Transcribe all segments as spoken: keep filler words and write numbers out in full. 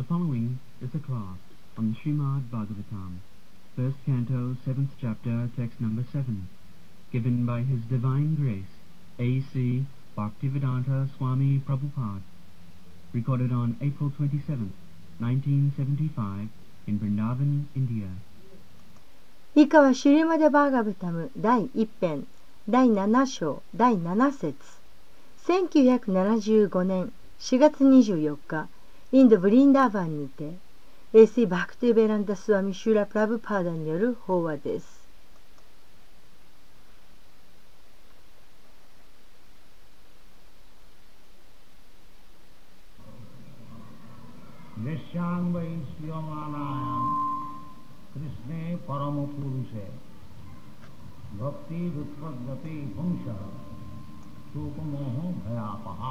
following is a class on the Srimad Bhagavatam, first canto, seventh chapter, text number seven, given by His Divine Grace, A C Bhaktivedanta Swami Prabhupada, recorded on April twenty-seventh, nineteen seventy-five, in Vrindavan, India. 以下はシュリマデ・バーガブタム第一編第七章第七節せんきゅうひゃくななじゅうごねんしがつにじゅうよっかインド・ブリンダーバンにて エーシー バクティベランダ・スワミ・シューラ・プラブパーダによる法話です。 कृष्णे परम पुरुषे भक्ति उत्पद्यते पुंस शोक मोह भयापहा.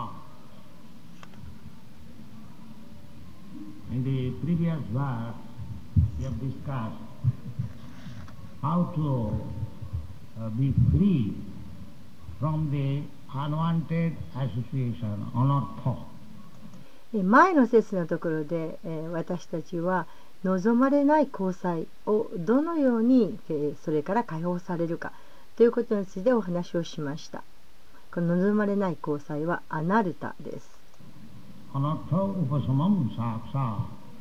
In the previous verse, we have discussed how to uh, be free from the unwanted association, anartha. 前の節のところで、えー、私たちは望まれない交際をどのように、えー、それから解放されるかということについてお話をしました。この望まれない交際はアナルタです。 アナルタウパサマムサクサ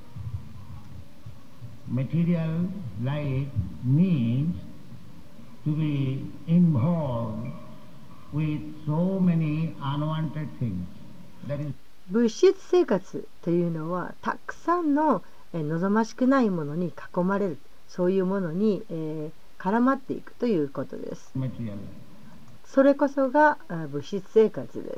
Material life means to be involved with so many unwanted things. That is 物質生活というのはたくさんの望ましくないものに囲まれる、そういうものに、えー、絡まっていくということです。それこそが物質生活です。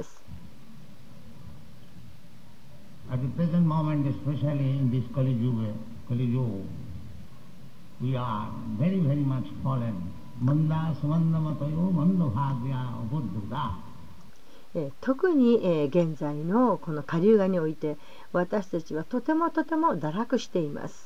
At the present moment, especially in this Kali Yuga, Kali Yuga, we are very, very much fallen. Manda samanda matayo manda bhagya ubuddhuda. 特に、えー、現在のこの下流画において私たちはとてもとても堕落しています。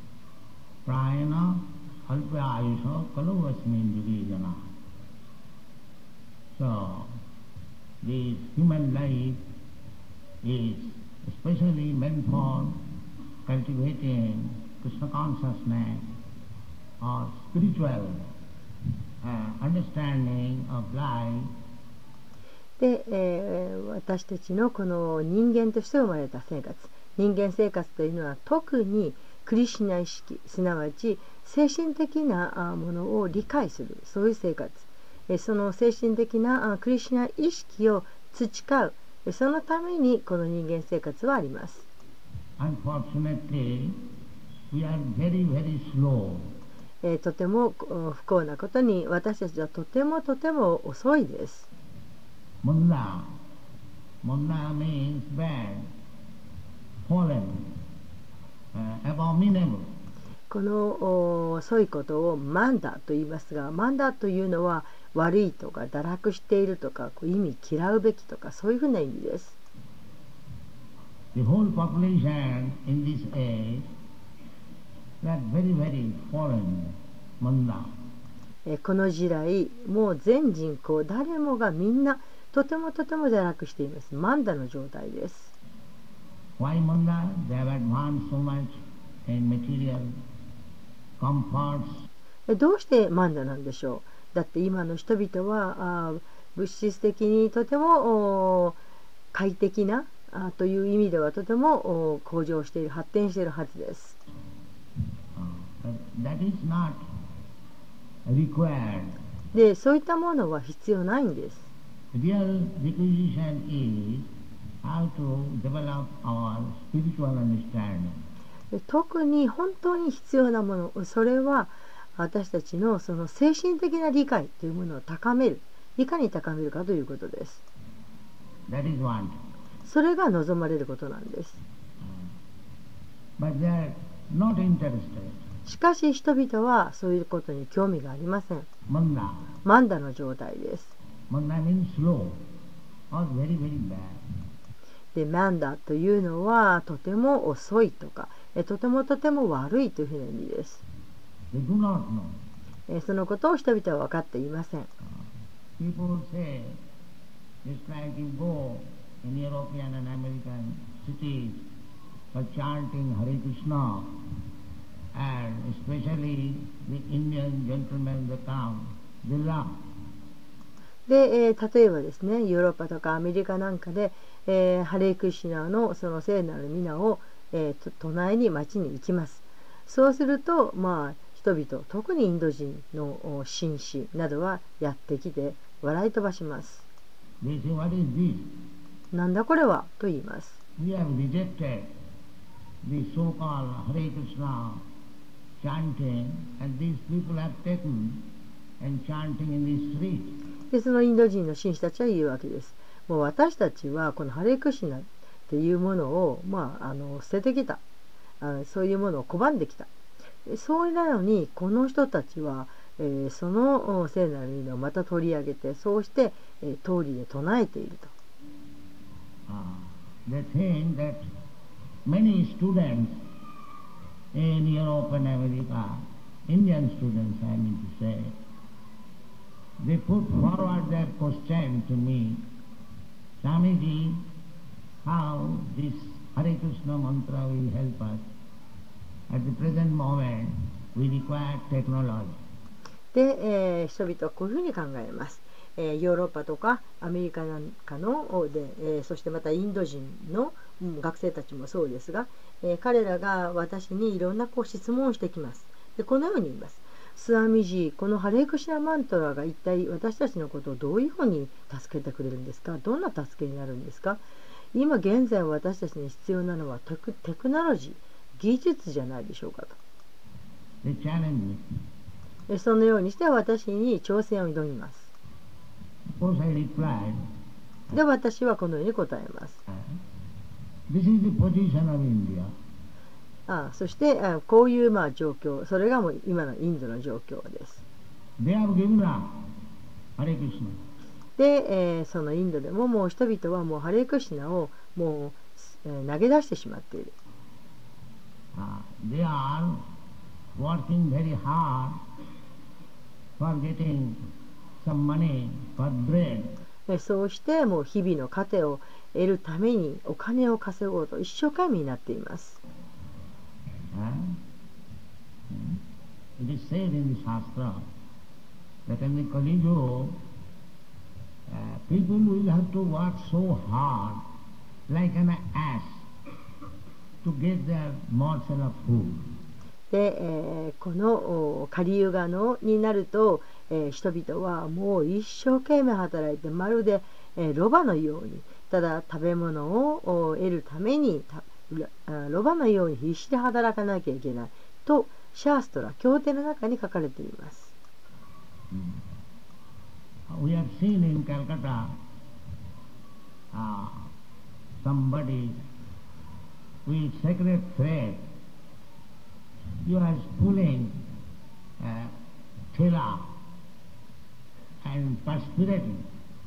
So, the human life is especially meant for cultivating Krishna consciousness or spiritual uh, understanding of life. で、えー、私たちのこの人間として生まれた生活、人間生活というのは特にクリシュナ意識、すなわち精神的なものを理解する、そういう生活、その精神的なクリシュナ意識を培う、そのためにこの人間生活はあります。 Unfortunately, we are very, very slow. えー、とても不幸なことに私たちはとてもとても遅いです。 Munda. Munda means bad, fallen, uh, abominable. この遅いことをマンダと言いますが、マンダというのは悪いとか堕落しているとか、こう意味嫌うべきとか、そういうふうな意味です。 The whole population in this age, that very, very fallen, manda. この時代、もう全人口誰もがみんなとてもとても堕落しています。マンダの状態です。 Why manda? They have advanced so much in material comforts. どうしてマンダなんでしょう。だって今の人々はあ物質的にとても快適なあという意味ではとても向上している、発展しているはずです。 That is not required. で、そういったものは必要ないんです。 Real requisition is how to develop our spiritual understanding. 特に本当に必要なもの、それは私たちのその精神的な理解というものを高める、いかに高めるかということです。 That is one. それが望まれることなんです。 But they are not interested. しかし人々はそういうことに興味がありません。 Manda. マンダの状態です。 Manda means slow or very, very bad. で、マンダというのはとても遅いとか、とてもとても悪いというふうな意味です。 They do not know. そのことを人々は分かっていません。 People say, just like you go in European and American cities, for chanting Hare Krishna, and especially the Indian gentlemen, they come, they laugh. で、えー例えばですね、ヨーロッパとかアメリカなんかで、えーハレークリシュナのその聖なる皆を、えーと唱えに町に行きます。そうすると、まあ、人々、特にインド人のお紳士などはやってきて笑い飛ばします。 They say, what is this? なんだこれはと言います。 We have rejected the so-called Hare Krishna chanting, and these people have taken and chanting in the street. で、そのインド人の紳士たちは言うわけです。もう私たちはこのハレークシナっていうものを、まあ、あの捨ててきたあ。そういうものを拒んできた。そうなのに、この人たちは、えーその聖なる意味をまた取り上げて、そうして、えー通りで唱えていると。 Uh, they think that many students in Europe and America, Indian students I mean to say, they put forward their question to me, Swamiji, how this Hare Krishna mantra will help us? At the present moment, we require technology. で、えー人々はこういうふうに考えます。えーヨーロッパとかアメリカなんかので、えーそしてまたインド人の、うん、学生たちもそうですが、えー彼らが私にいろんなこう質問をしてきます。で、このように言います。スワミジー、このハレークシナマントラが一体私たちのことをどういうふうに助けてくれるんですか？どんな助けになるんですか？今現在私たちに必要なのはテク、テクノロジー、技術じゃないでしょうかと。 They challenge me. でそのようにして私に挑戦を挑みます。 Of course, I replied, で、私はこのように答えます。 this is the position of India. ああそしてあこういうまあ状況、それがもう今のインドの状況です。 They have given up Hare Krishna. で、えーそのインドでももう人々はもうハレークシナをもう、えー投げ出してしまっている。 Uh, they are working very hard for getting some money for bread. でそうしてもう日々の糧を得るためにお金を稼ごうと一生懸命になっています。 Huh? It is said in the Shastra that in the Kali Yuga, uh, people will have to work so hard like an ass to get their morsel of food. で、えーこのおカリユガのになると、えー人々はもう一生懸命働いてまるで、えーロバのようにただ食べ物をお得るためにたあロバのように必死で働かなきゃいけないとシャーストラ経典の中に書かれています。 We have seen in Calcutta uh, somebody with sacred thread. He was pulling uh, thela and perspiring.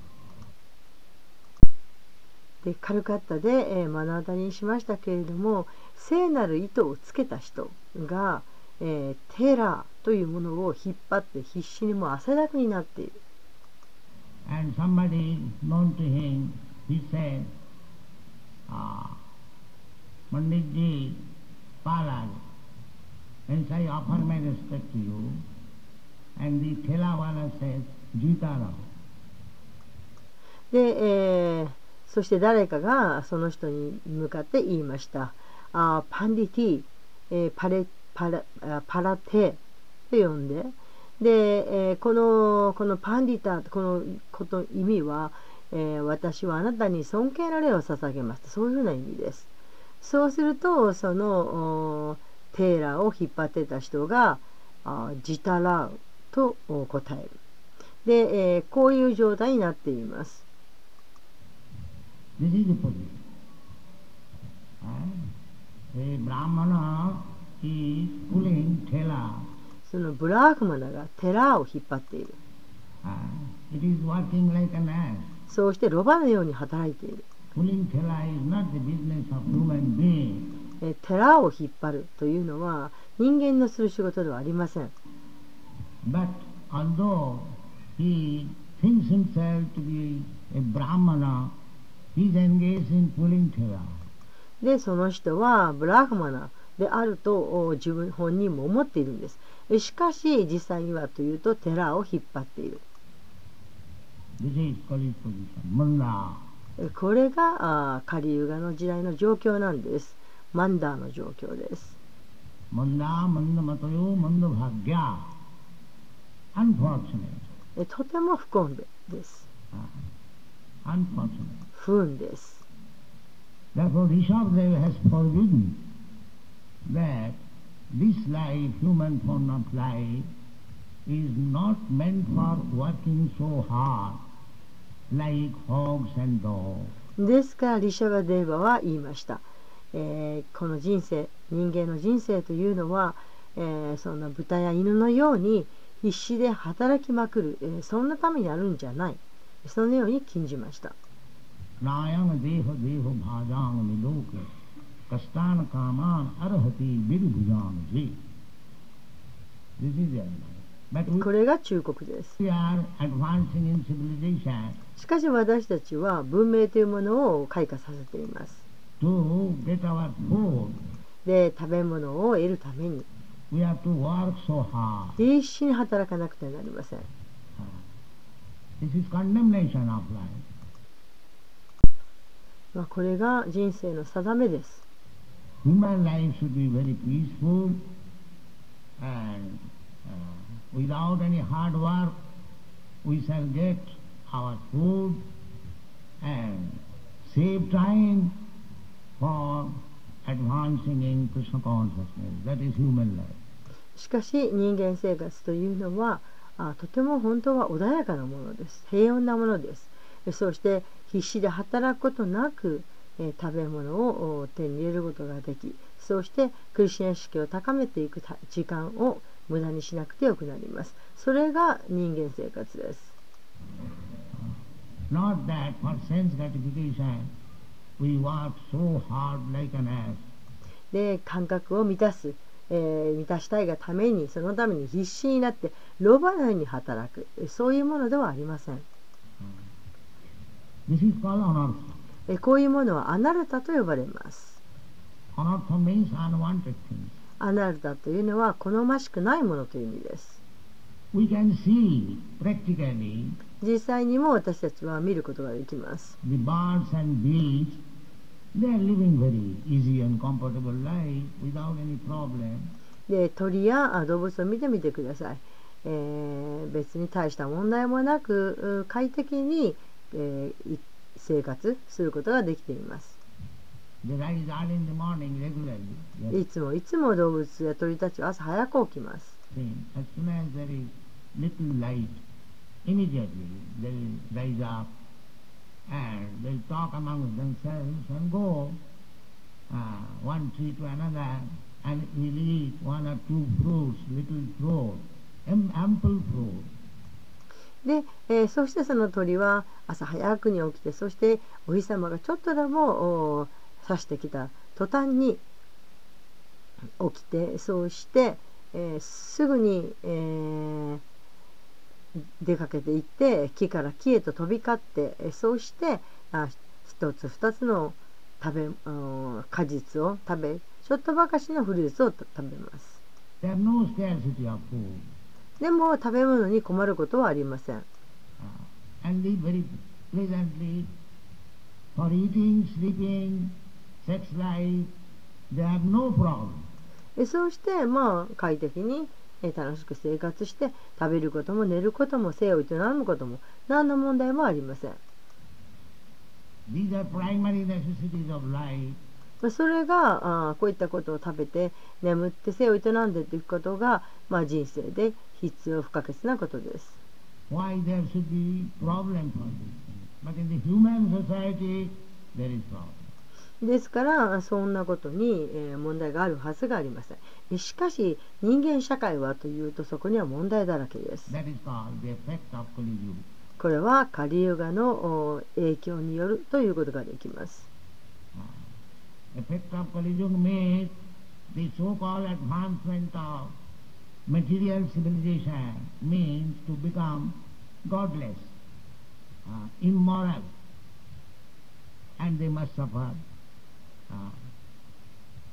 でカルカッタで、えー目の当たりにしましたけれども、聖なる糸をつけた人が、えーテラーというものを引っ張って必死にもう汗だくになっている。 And somebody known to him, he said, ah, Panditji, Palaj, hence I offer my respect to you. And the Thelawala says, Jitara. で、えーそして誰かがその人に向かって言いました。あパンディティ、えーパレパラあパラテと呼んで、で、えーこのこのパンディタこのこと意味は、えー私はあなたに尊敬の礼を捧げますと、そういうふうな意味です。そうするとそのおテーラーを引っ張ってた人があジタラウとお答える。で、えーこういう状態になっています。 This is the position. Uh, a Brahmana is pulling thela. そのブラーフマナがテラーを引っ張っている。 Uh, it is working like an ass. そうしてロバのように働いている。 Pulling thela is not the business of human being. えテラーを引っ張るというのは人間のする仕事ではありません。 But although he thinks himself to be a Brahmana, he is engaged in pulling thela. でその人はブラフマナであると自分本人も思っているんです。しかし実際にはというと寺を引っ張っている。これがカリユガの時代の状況なんです。マンダーの状況です。 マンダーマンダマトヨマンダバギャアンフォーチュネート。 とても不幸です。 アンフォーチュネート。 不運です。 Therefore, Rishabhadeva has forbidden that this life, human form of life, is not meant for working so hard like hogs and dogs. ですからリシャバデーバは言いました、えー、この人生、人間の人生というのは、えー、そんな豚や犬のように必死で働きまくる、えー、そんなためにあるんじゃない、そのように禁じました。 Nayang deho deho bhajang miloke kastan kaman arhati virbhujang ji. This is the idea. これが忠告です。 We are advancing in civilization. しかし私たちは文明というものを開花させています。 To get our food, で、食べ物を得るために we have to work so hard. 必死に働かなくてはなりません。 This is condemnation of life. まあこれが人生の定めです。 Human life should be very peaceful and uh, without any hard work we shall get our food and save time for advancing in Krishna consciousness. That is human life. しかし人間生活というのはあとても本当は穏やかなものです。平穏なものです。そして必死で働くことなく、えー、食べ物を手に入れることができ、そしてクリシュナ意識を高めていく時間を無駄にしなくてよくなります。それが人間生活です。 Not that for sense gratification we work so hard like an ass. で、感覚を満たす、えー、満たしたいがために、そのために必死になってロバのように働く、そういうものではありません。 This is called anartha. えこういうものはアナルタと呼ばれます。 Anartha means unwanted things. アナルタというのは好ましくないものという意味です。 We can see practically 実際にも私たちは見ることができます。 the birds and bees, they are living very easy and comfortable life without any problem. で、鳥や動物を見てみてください。えー、別に大した問題もなく快適に、えー、生活することができています。 They rise early in the morning regularly. Yes. いつもいつも動物や鳥たちは朝早く起きます。 As soon as there is little light, immediately they will rise up and they will talk among themselves and go uh, one tree to another and will eat one or two fruits, little fruit, ample fruit. で、えー、そしてその鳥は朝早くに起きて、そしてお日様がちょっとでも差してきた途端に起きて、そうして、えー、すぐに、えー、出かけていって木から木へと飛び交って、えー、そうしてあ一つ二つの食べ果実を食べ、ちょっとばかしのフルーツを食べます。 There is no scarcity of food. でも食べ物に困ることはありません。 Uh, and live very pleasantly for eating, sleeping, sex life. They have no problem. そうしてまあ快適に楽しく生活して食べることも寝ることも性を営むことも何の問題もありません。 These are primary necessities of life. それがあこういったことを食べて眠って性を営んでいくことが、まあ、人生で必要不可欠なことです。 Why there should be problem for this thing? But in the human society there is problem. ですからそんなことに、えー、問題があるはずがありません。しかし人間社会はというとそこには問題だらけです。 That is called the effect of Kali Yuga. これはカリユガの影響によるということができます。 Effect of Kali Yuga means the so-called advancement of material civilization means to become godless, uh, immoral, and they must suffer uh,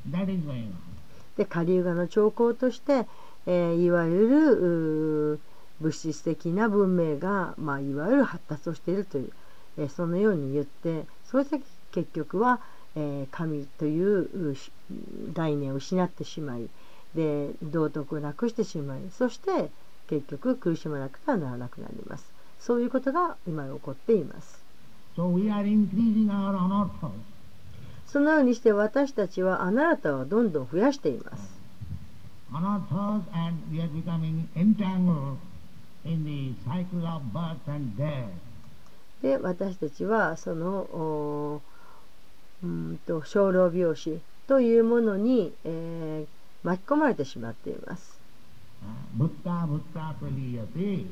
That is going on. でカリユガの兆候として、えーいわゆるうー物質的な文明が、まあ、いわゆる発達をしているという、えーそのように言ってそして結局は、えー神といううし概念を失ってしまいで道徳をなくしてしまいそして結局苦しまなくてはならなくなります。そういうことが今起こっています。 So we are increasing our anarthas. そのようにして私たちはアナラタをどんどん増やしています。 Anarthas, and we are becoming entangled in the cycle of birth and death. で私たちはそのおうーんと生老病死というものに、えー巻き込まれてしまっています。 Bhutta bhutta praliyate.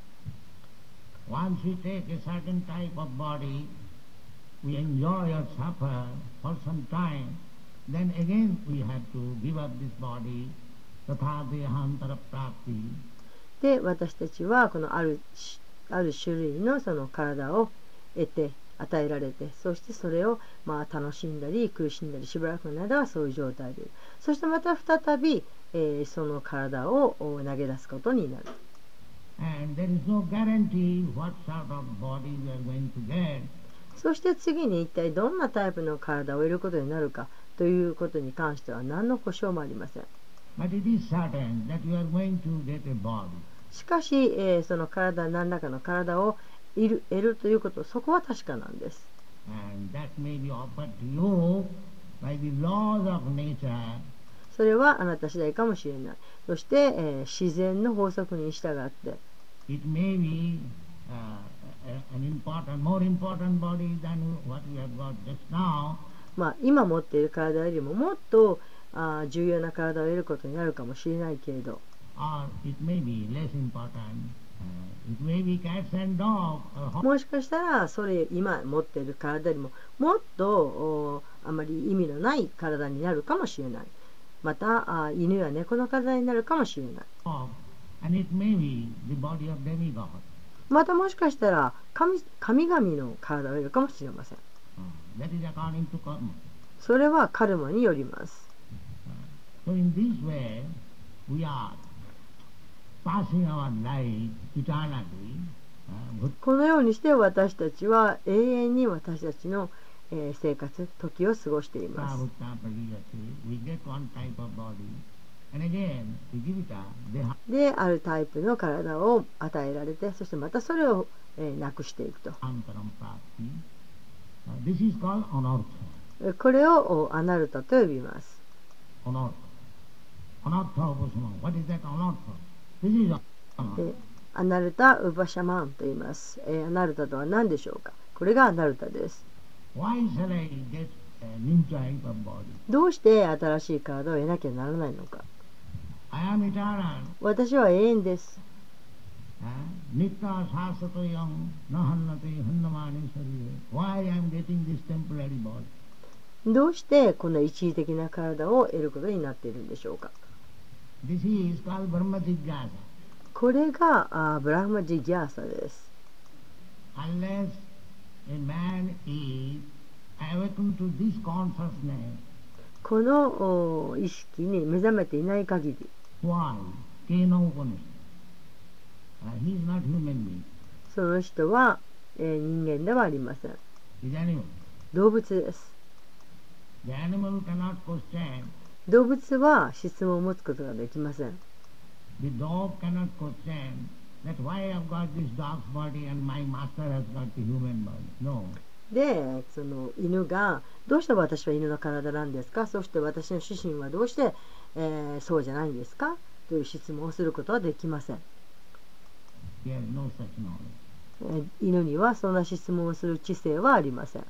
Once we take a certain type of body, we enjoy or suffer for some time, then again we have to give up this body, tatha dehantara prapti. で私たちはこのあるある種類のその体を得て与えられてそしてそれをまあ楽しんだり苦しんだりしばらくの間はそういう状態でいる。そしてまた再び、えーその体を投げ出すことになる。 And there is no guarantee what sort of body we are going to get. そして次に一体どんなタイプの体を得ることになるかということに関しては何の保証もありません。 But it is certain that you are going to get a body. しかし、えーその体何らかの体を得る、得るということそこは確かなんです。 And that may be offered to you by the laws of nature. それはあなた次第かもしれない。そして、えー自然の法則に従って It may be uh, a- an important, more important body than what we have got just now. まあ、今持っている体よりももっとあー重要な体を得ることになるかもしれないけれど Or it may be less important. Uh, it may be cats and dogs. Or ho- もしかしたらそれ今持っている体よりももっとおあまり意味のない体になるかもしれない。またあ犬や猫の体になるかもしれない。 of- and it may be the body of demigod. またもしかしたら神、神々の体を得るかもしれません。 Uh, that is according to karma. それはカルマによります。 So in this way, we are passing our life eternally. Uh, bhut- このようにして私たちは永遠に私たちの、えー生活、時を過ごしています。 bhutta pariyate. We get one type of body, and again, the jivita, deha. で、あるタイプの体を与えられて、そしてまたそれを、えーなくしていくと。 Antaram prapti. Uh, this is called anartha. えこれをおアナルタと呼びます。 Anartha. Anartha upasana. What is that anartha? This is anartha. でアナルタ・ウバシャマンと言います。えーアナルタとは何でしょうか。これがアナルタです。 Why shall I get a new type of body? どうして新しい体を得なきゃならないのか。 I am eternal. 私は永遠です。 Uh, Nitya sasato yam nahannate hannamani sarire. Why I am getting this temporary body? どうしてこの一時的な体を得ることになっているんでしょうか。 This is called Brahma Jigyasa. これがあブラフマジギャーサです。 Unless a man is awakened to this consciousness, このお意識に目覚めていない限り、 why? Kena Upanishad. Uh, he is not human being. その人は、えー人間ではありません。 He is animal. 動物です。 The animal cannot question. 動物は質問を持つことができません。 The dog cannot question that why I have got this dog's body and my master has got the human body. No. で、その犬がどうして私は犬の体なんですか、そして私の主人はどうして、えーそうじゃないんですかという質問をすることはできません。 He has no such knowledge. えー犬にはそんな質問をする知性はありません。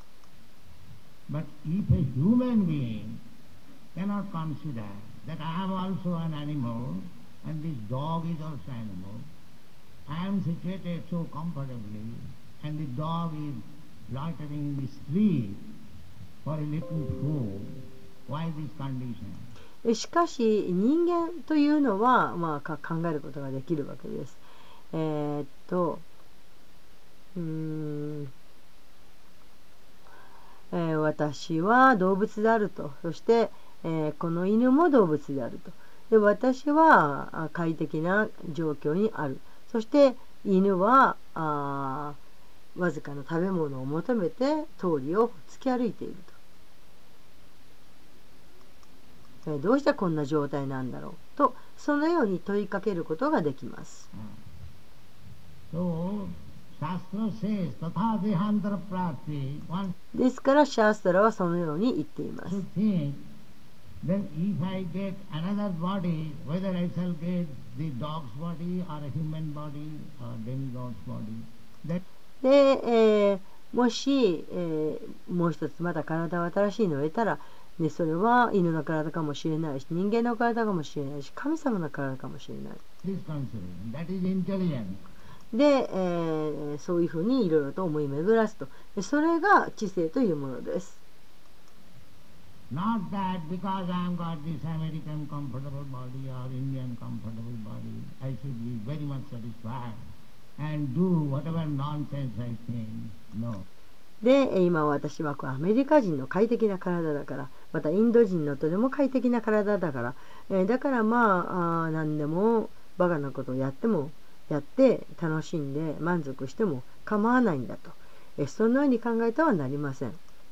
But if a human being cannot consider that I am also an animal and this dog is also animal, I am situated so comfortably and the dog is loitering in the street for a little food, why this condition? えしかし人間というのは、まあ、か考えることができるわけです。えーっとうーん、えー私は動物であると、そして、 えーこの犬も動物であると。で、私はあ快適な状況にある。そして犬はあわずかな食べ物を求めて通りを突き歩いていると。えーどうしてこんな状態なんだろうと、そのように問いかけることができます。 So, Shastra says, tatha dehantara prati, one ですからシャーストラはそのように言っています。 should think, then if I get another body, whether I shall get the dog's body or a human body or demigod's body, that で、えーもし、えーもう一つまた体を新しいのを得たら、ね、それは犬の体かもしれないし、人間の体かもしれないし、神様の体かもしれない。 is considered. That is intelligence. で、えーそういうふうにいろいろと思い巡らすと。でそれが知性というものです。 Not that because I have got this American comfortable body or Indian comfortable body, I should be very much satisfied and do whatever nonsense I think. No. で、今私はこうアメリカ人の快適な体だから、またインド人のとても快適な体だから、えーだからまあ、あー何でもバカなことをやってもやって楽しんで満足しても構わないんだと、えーそのように考えてはなりません。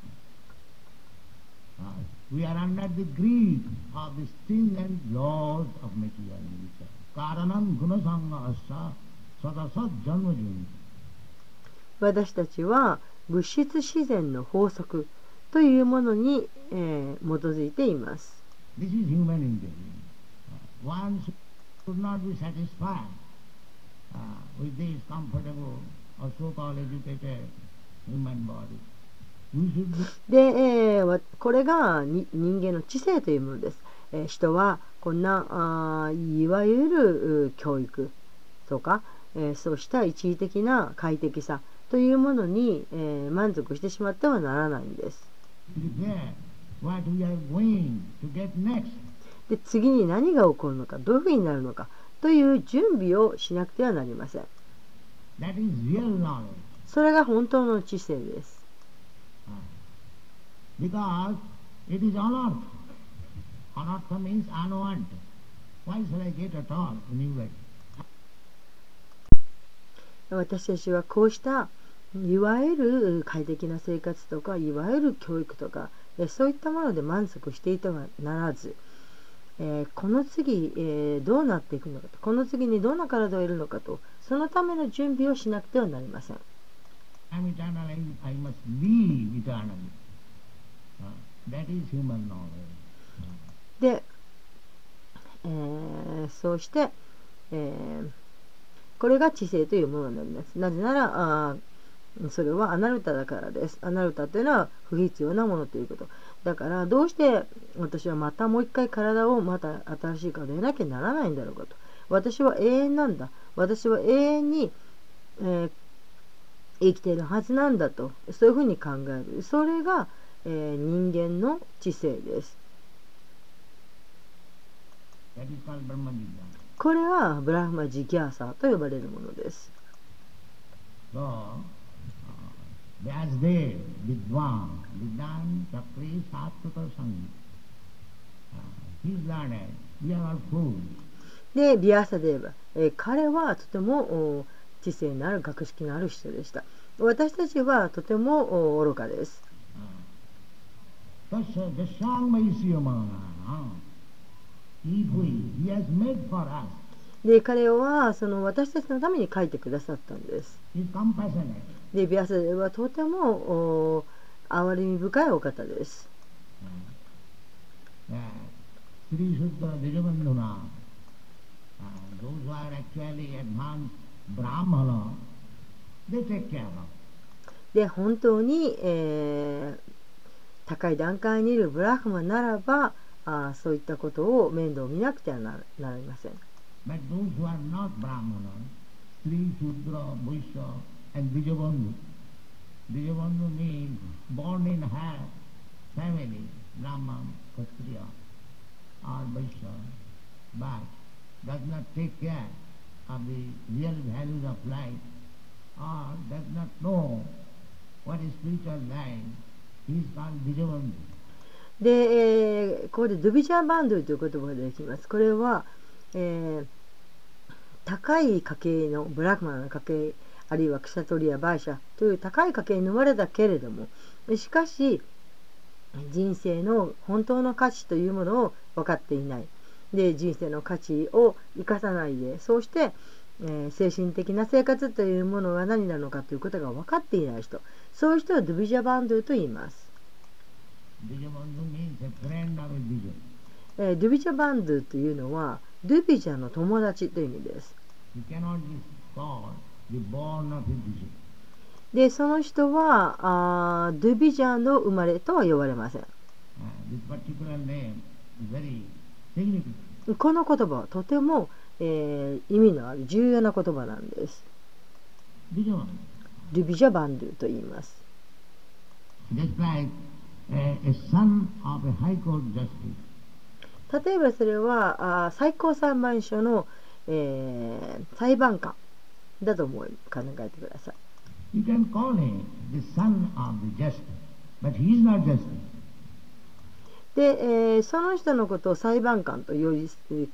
Uh, we are under the greed of the stringent laws of material nature. Karanam gunasanga asa sadasat janmajuni. 私たちは物質自然の法則というものに、えー基づいています。 This is human intelligence. Uh, one should not be satisfied uh, with this comfortable or so-called educated human body. We should be で、えーわこれがに人間の知性というものです。えー人はこんなあーいわゆるう教育とか、えーそうした一時的な快適さというものに、えー満足してしまってはならないんです。 prepare what we are going to get next. で、次に何が起こるのか、どういうふうになるのかという準備をしなくてはなりません。 That is real knowledge. それが本当の知性です。 Because it is anartha. Anartha means unwanted. Why shall I get at all anyway? 私たちはこうしたいわゆる快適な生活とかいわゆる教育とかえそういったもので満足していてはならず、えーこの次、えーどうなっていくのかと、この次にどんな体を得るのかと、そのための準備をしなくてはなりません。 I'm eternal, I, I must live eternally. Uh, that is human knowledge. で、えーそうして、えーこれが知性というものになります。なぜならあーそれはアナルタだからです。アナルタというのは不必要なものということだから、どうして私はまたもう一回体をまた新しい体を得なきゃならないんだろうかと。私は永遠なんだ、私は永遠に、えー生きているはずなんだと、そういうふうに考える。それが、えー人間の知性です。 That is called Brahma Vidya. これはブラフマジギャーサーと呼ばれるものです。 So, uh, Vyasdev, Vidwan, Vidyan, Chakri, Sattva, Sangi. Uh, he is learned. We are all fools. で、ビアサデーバ、えー彼はとてもお知性のある学識のある人でした。私たちはとてもお愚かです。 Tasya Jasyang Maisiyama. If we, he has made for us. で、彼はその私たちのために書いてくださったんです。 He is compassionate. で、ビアサデーバはとてもお憐れみ深いお方です。 Uh, Sri Sudra Dijabandhuna, uh, those who are actually advanced Brahmana, they take care of. で、本当に、えー高い段階にいるブラフマならば、あーそういったことを面倒見なくてはななりません。 But those who are not Brahmana, Sri Sudra, Vaishya and Dijabandhu, Dijabandhu means born in her family, Brahman, Kshatriya or Vaishya, but does not take care of the real values of life or does not know what is spiritual life. He is called Dijabandhu. で、えーここでドゥビジャーバンドゥという言葉が出てきます。これは、えー高い家系のブラフマンの家系、あるいはクシャトリア・バーシャという高い家系に生まれたけれども、しかし人生の本当の価値というものを分かっていない。で、人生の価値を生かさないで、そうして、えー精神的な生活というものが何なのかということが分かっていない人、そういう人はドゥビジャバンドゥと言います。 Dijabandhu means a friend of a Dija. えードゥビジャバンドゥというのはドゥビジャの友達という意味です。 He cannot be called the born of a Dija. で、その人はあードゥビジャの生まれとは呼ばれません。 Uh, this particular name is very significant. この言葉はとても、えー意味のある重要な言葉なんです。 Dijabandhu. ドゥビジャバンドゥと言います。 Just like a, a son of a high court justice. 例えばそれはあー最高裁判所の、えー裁判官だと思い考えてください。 You can call him the son of the justice, but he is not justice. で、えーその人のことを裁判官と呼び、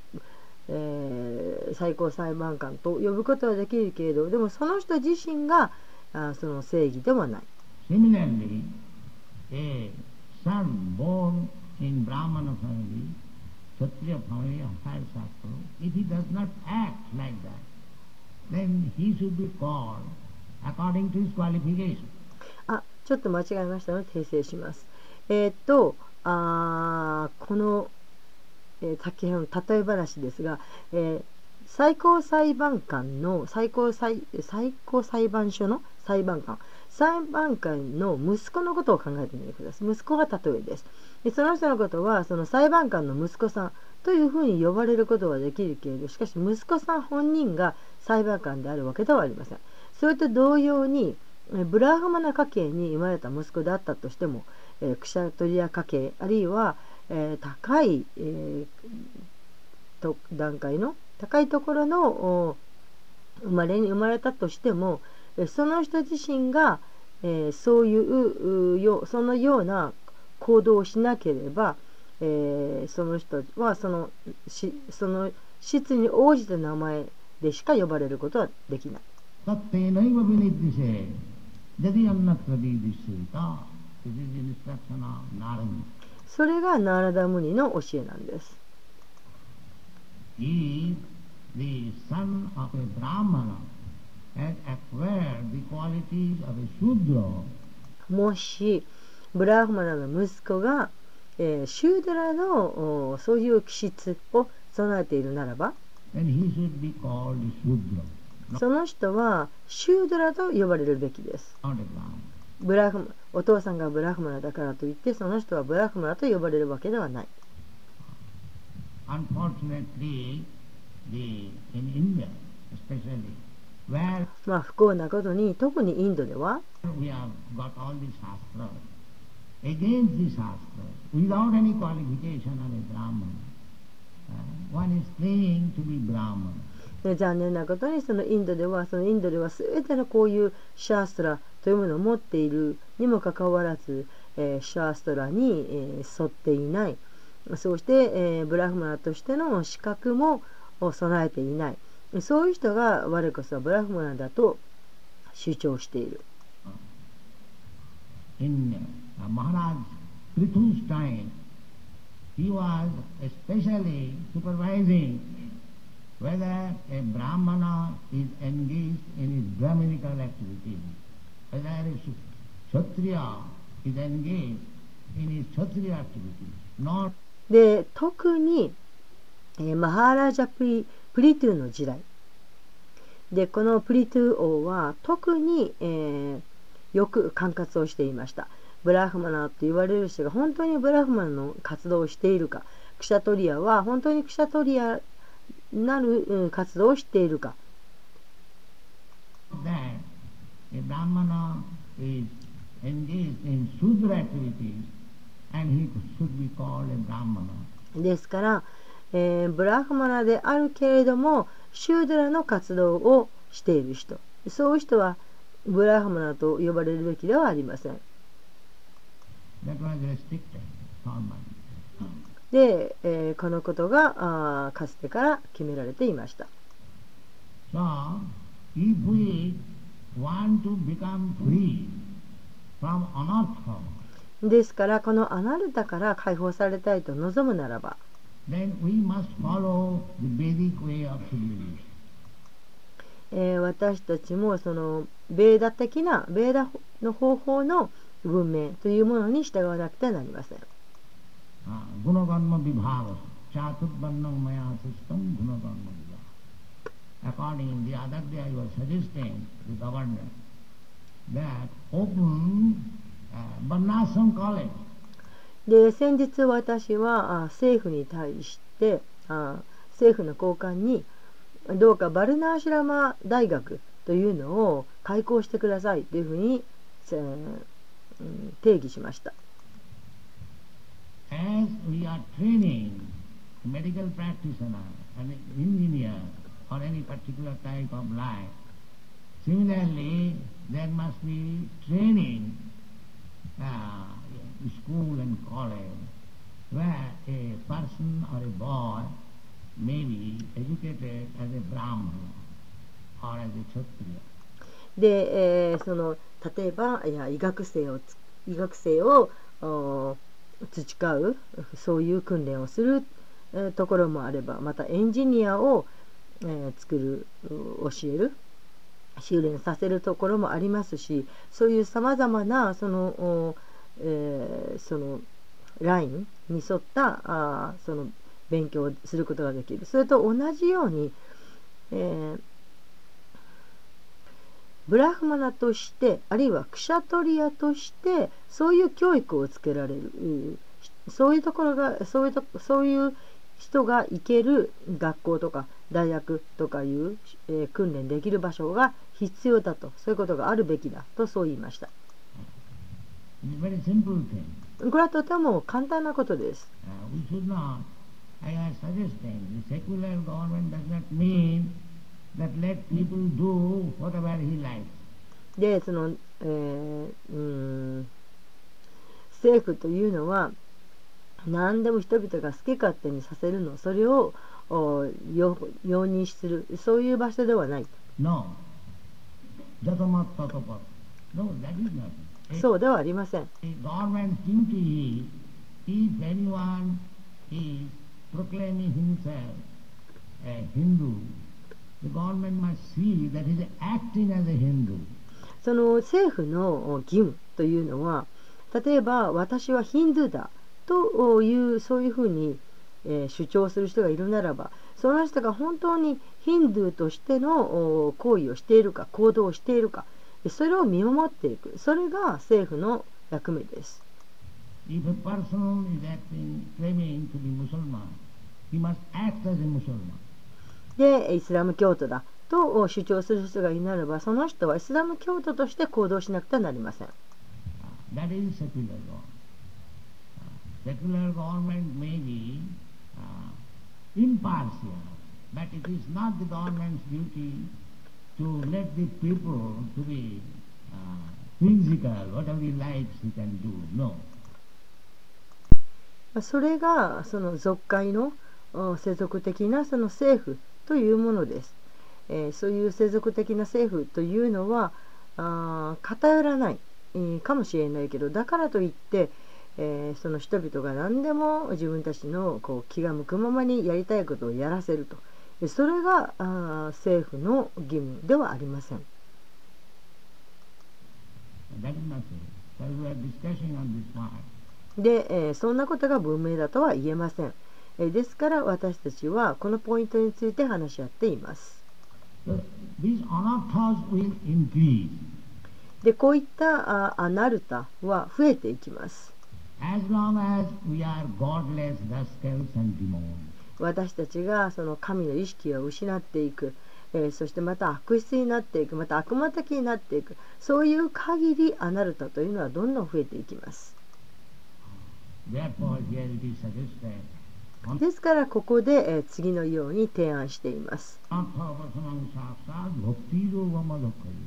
えー最高裁判官と呼ぶことはできるけれど、でもその人自身があその正義ではない。 Similarly, a son born in Brahmana family, Kshatriya family of higher Shastra, if he does not act like that, then he should be called according to his qualification. あ、ちょっと間違えましたので訂正します。えーっとあーこの、えー先ほどの例え話ですが、えー最高裁判官の最高裁最高裁判所の裁判官裁判官の息子のことを考えてみてください。息子が例えです。でその人のことはその裁判官の息子さんというふうに呼ばれることはできるけれど、しかし息子さん本人が裁判官であるわけではありません。それと同様にえブラハマナ家系に生まれた息子であったとしても、えークシャトリア家系あるいは、えー高い、えーと段階の高いところのお生まれに生まれたとしても、えその人自身が、えーそういううよそのような行動をしなければ、えーその人はそのしその質に応じた名前でしか呼ばれることはできない。 Tattenaiva viniddhise, jadi annatra vidhiseta. This is the instruction of Narada. それがナーラダムニの教えなんです。 If the son of a Brahmana has acquired the qualities of a Shudra, もしブラフマナの息子が、えーシュードラのおそういう気質を備えているならば、 then he should be called a Shudra, その人はシュードラと呼ばれるべきです。 not a Brahmana. ブラフマお父さんがブラフマナだからといってその人はブラフマナと呼ばれるわけではない。 Unfortunately, the, in India especially, where まあ不幸なことに特にインドでは we have got all the shastras, against the shastras, without any qualification of a Brahman, uh, one is claiming to be Brahman. で残念なことにそのインドではそのインドでは全てのこういうシャーストラというものを持っているにもかかわらず、えーシャーストラに、えー沿っていない。そうして、えーブラフマナとしての資格も備えていない。そういう人が我こそはブラフマナだと主張している。 In uh, Maharaj Prithu's time, he was especially supervising whether a Brahmana is engaged in his Brahminical activities, whether a Kshatriya is engaged in his Kshatriya activities, not で特に、えーマハーラジャプリプリトゥの時代でこのプリトゥ王は特に、えーよく管轄をしていました。ブラフマナと言われる人が本当にブラフマナの活動をしているか、クシャトリアは本当にクシャトリアなるうん活動をしているか、 that a Brahmana is engaged in Shudra activities and he should be called a Brahmana. ですから、えーブラフマナであるけれどもシュードラの活動をしている人、そういう人はブラフマナと呼ばれるべきではありません。 That was restricted torment. で、えーこのことがあーかつてから決められていました。 So, if we want to become free from anartha, ですからこのアナルタから解放されたいと望むならば、 then we must follow the Vedic way of civilization. えー私たちもそのベーダ的なベーダの方法の文明というものに従わなくてはなりません。 Gunakarma vibhava, chaturvarnam maya system gunakarma vibhava. According, the other day I was suggesting to the government that open uh, Varnashram college. で先日私はあ政府に対してあ政府の高官にどうかバルナーシュラマ大学というのを開校してくださいというふうに、えーうん定義しました。 As we are training medical practitioner, an engineer, or any particular type of life, similarly there must be training uh, in school and college where a person or a boy may be educated as a Brahmana or as a Kshatriya. で、えーその例えばいや医学生をつ医学生をお培うそういう訓練をする、えーところもあれば、またエンジニアを、えー作るう教える修練させるところもありますし、そういうさまざまなその、おえーそのラインに沿ったあーその勉強をすることができる。それと同じように、えーブラフマナとしてあるいはクシャトリアとしてそういう教育をつけられる、うんそういうところがそういうとそういう人が行ける学校とか大学とかいう、えー訓練できる場所が必要だと、そういうことがあるべきだとそう言いました。 It's a very simple thing. これはとても簡単なことです。 Uh, we should not, I was suggesting, the secular government does not mean that let people do whatever he likes. でその、えーうん政府というのは何でも人々が好き勝手にさせるの、それをお容容認する、そういう場所ではない。 No. Jatamat tatapat. No, that is not. A, そうではありません。 a government's duty is, if anyone is proclaiming himself a Hindu, the government must see that he is acting as a Hindu. その政府の義務というのは、例えば私はヒンドゥーだというそういうふうに、えー主張する人がいるならば、その人が本当にヒンドゥーとしてのお行為をしているか行動をしているか、それを見守っていく、それが政府の役目です。 If a person is acting, claiming to be Muslim, he must act as a Muslim. でイスラム教徒だと主張する人がいるならば、その人はイスラム教徒として行動しなくてはなりません。 That is secular government. Uh, secular government may be uh, impartial, but it is not the government's duty to let the people to be uh, whimsical, whatever he likes he can do. No. それがその属界のお世俗的なその政府というものです。えーそういう世俗的な政府というのはあー偏らない、えーかもしれないけど、だからといって、えーその人々が何でも自分たちのこう気が向くままにやりたいことをやらせると、でそれがあー政府の義務ではありません。 That is not so. So we are discussing on this point. で、えーそんなことが文明だとは言えません。えーですから私たちはこのポイントについて話し合っています。 So these anarthas will increase でこういったあアナルタは増えていきます。 as long as we are godless rascals and demons. 私たちがその神の意識を失っていく、えーそしてまた悪質になっていく、また悪魔的になっていく、そういう限りアナルタというのはどんどん増えていきます。 Therefore, here it is suggested, ですからここで、えー次のように提案しています。 Anarthavasanam saksat bhaktirogamadokkari.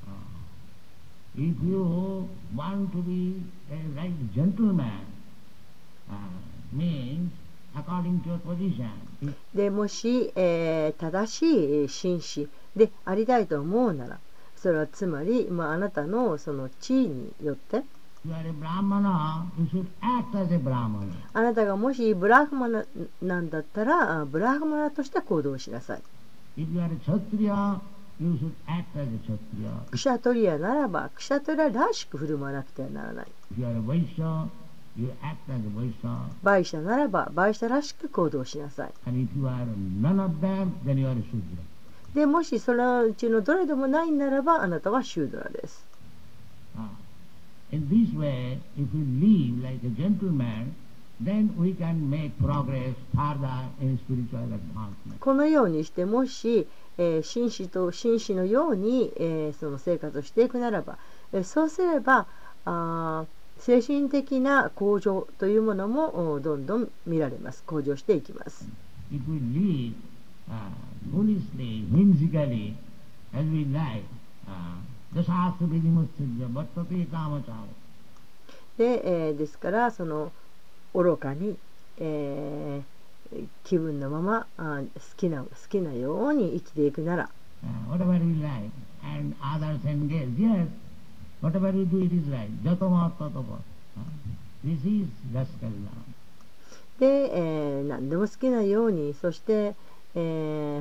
If you want to be a right gentleman, uh, means according to your position. でもし、えー正しい紳士でありたいと思うなら、それはつまり、まあ、あなたのその地位によって、 You are a Brahmana, you should act as a Brahmana. あなたがもしブラフマナなんだったら、あブラフマナとして行動しなさい。 If you are a Kshatriya, you should act as a Kshatriya. クシャトリアならば、クシャトリアらしく振る舞わなくてはならない。 If you are a Vaishya, you act as a Vaishya. バイシャならば、バイシャらしく行動しなさい。 And if you are none of them, then you are a Shudra. でもしそのうちのどれでもないならば、あなたはシュードラです。 Ah. In this way, if we live like a gentleman, then we can make progress further in spiritual advancement. このようにして、もし、えー紳士と紳士のように、えーその生活をしていくならば、えーそうすればあー精神的な向上というものもおどんどん見られます。向上していきます。 If we live uh, foolishly, whimsically, as we like, uh, dasasya vidimustajya bhattati kamachara. で、えーですからその愚かに、えー気分のままあ好きな好きなように生きていくなら、 Uh, whatever we like, and others engage, yes, whatever we do, it is right. Jatama tatapa. Uh, this is rascal love. で、えー何でも好きなように、そして、えー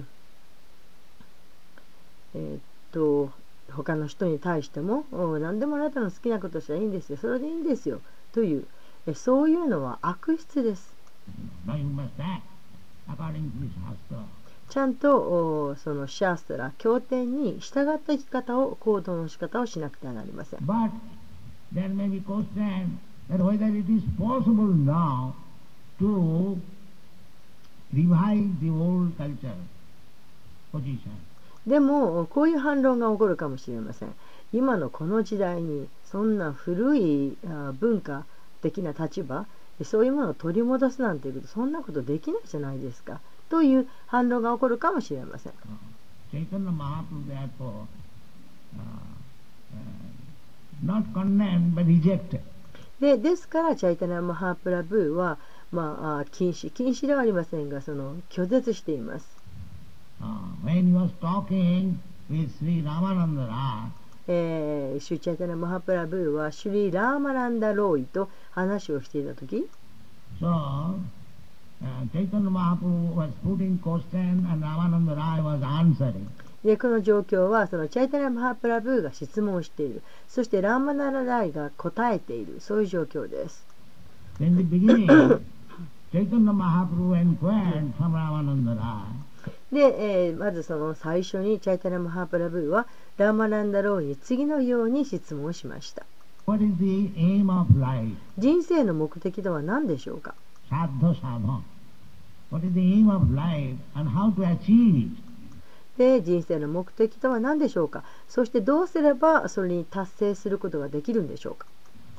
えーっと他の人に対してもお何でもあなたの好きなことしたらいいんですよ、それでいいんですよという、えそういうのは悪質です。 Now you must act according to this Shastra. ちゃんとおそのシャーストラ経典に従った生き方を、行動の仕方をしなくてはなりません。 But there may be question that whether it is possible now to revive the old culture position. でもこういう反論が起こるかもしれません。今のこの時代にそんな古いあ文化的な立場、そういうものを取り戻すなんていうこと、そんなことできないじゃないですかという反論が起こるかもしれません。 Chaitanya Mahaprabhu therefore uh, uh, not condemned but rejected. でですからチャイタニャ・マハプラブーは、まあ、禁止禁止ではありませんが、その拒絶しています。 Uh, when he was talking with Sri Ramananda Raj, えー、シュチャイタニャ・マハプラブーはシュリー・ラーマランダ・ローイと話をしていたとき、 so uh, Chaitanya Mahaprabhu was putting question and Ramananda Raj was answering. でこの状況はそのチャイタニャ・マハプラブーが質問している、そしてラーマナラライが答えている、そういう状況です。 In the beginning, Chaitanya Mahaprabhu inquired from Ramananda Raj, で、えーまずその最初にチャイタニャ・マハプラブーはラーマランダ・ローイに次のように質問しました。 what is the aim of life? 人生の目的とは何でしょうか。 Sadha sadha. What is the aim of life and how to achieve it? で人生の目的とは何でしょうか。そしてどうすればそれに達成することができるんでしょうか。